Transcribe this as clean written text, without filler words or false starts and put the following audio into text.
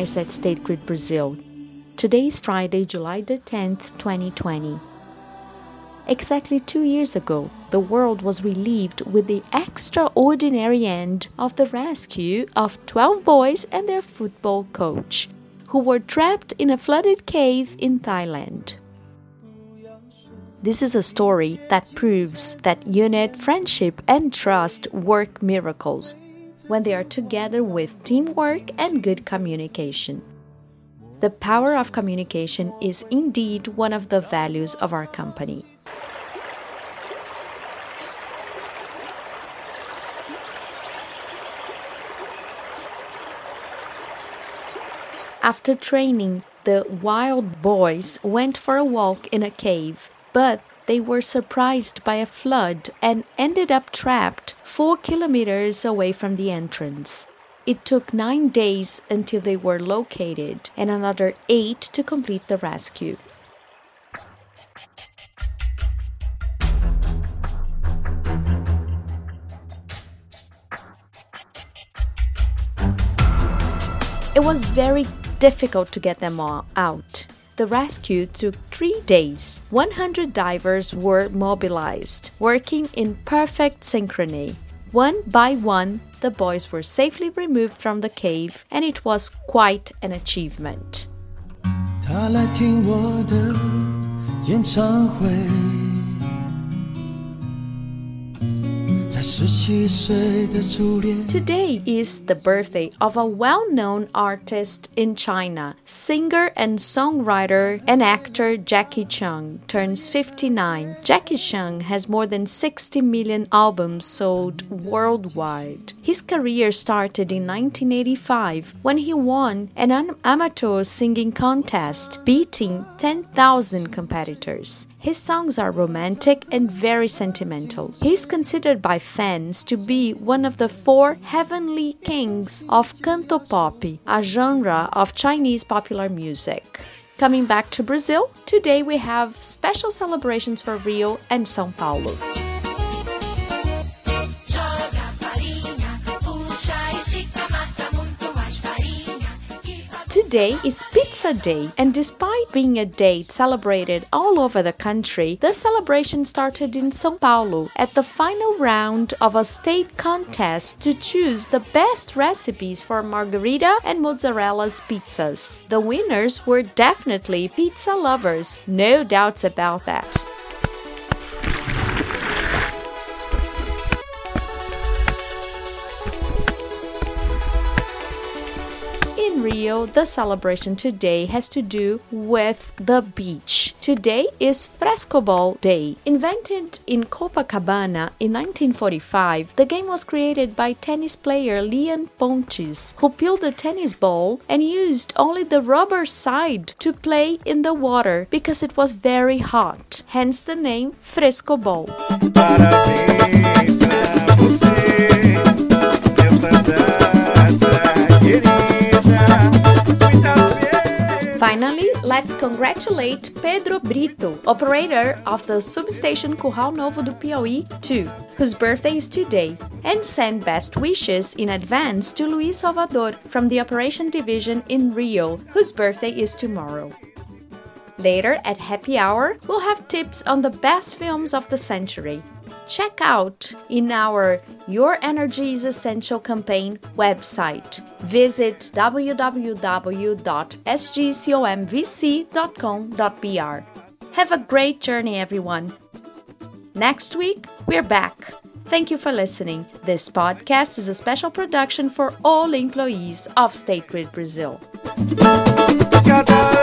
guys at State Grid Brazil. Today is Friday, July the 10th, 2020. Exactly 2 years ago, the world was relieved with the extraordinary end of the rescue of 12 boys and their football coach, who were trapped in a flooded cave in Thailand. This is a story that proves that unit, friendship, and trust work miracles when they are together with teamwork and good communication. The power of communication is indeed one of the values of our company. After training, the wild boys went for a walk in a cave, but they were surprised by a flood and ended up trapped 4 kilometers away from the entrance. It took 9 days until they were located and another 8 to complete the rescue. It was very difficult to get them all out. The rescue took 3 days. 100 divers were mobilized, working in perfect synchrony. One by one, the boys were safely removed from the cave, and it was quite an achievement. 他来听我的演唱会，在17岁的初恋。 Today is the birthday of a well-known artist in China. Singer and songwriter and actor Jackie Chung turns 59. Jackie Chung has more than 60 million albums sold worldwide. His career started in 1985 when he won an amateur singing contest, beating 10,000 competitors. His songs are romantic and very sentimental. He is considered by fans to be one of the 4 heavenly kings of cantopop, a genre of Chinese popular music. Coming back to Brazil, today we have special celebrations for Rio and São Paulo. Today is Pizza Day, and despite being a date celebrated all over the country, the celebration started in São Paulo at the final round of a state contest to choose the best recipes for margarita and mozzarella's pizzas. The winners were definitely pizza lovers, no doubts about that. In Rio, the celebration today has to do with the beach. Today is Frescobol Day. Invented in Copacabana in 1945, the game was created by tennis player Leon Pontes, who peeled a tennis ball and used only the rubber side to play in the water because it was very hot. Hence the name Frescobol. Parabéns pra você, nessa data querida. Finally, let's congratulate Pedro Brito, operator of the substation Curral Novo do Piauí 2, whose birthday is today, and send best wishes in advance to Luis Salvador from the Operation Division in Rio, whose birthday is tomorrow. Later at Happy Hour, we'll have tips on the best films of the century. Check out in our Your Energy is Essential campaign website. Visit www.sgcomvc.com.br. Have a great journey, everyone. Next week, we're back. Thank you for listening. This podcast is a special production for all employees of State Grid Brazil.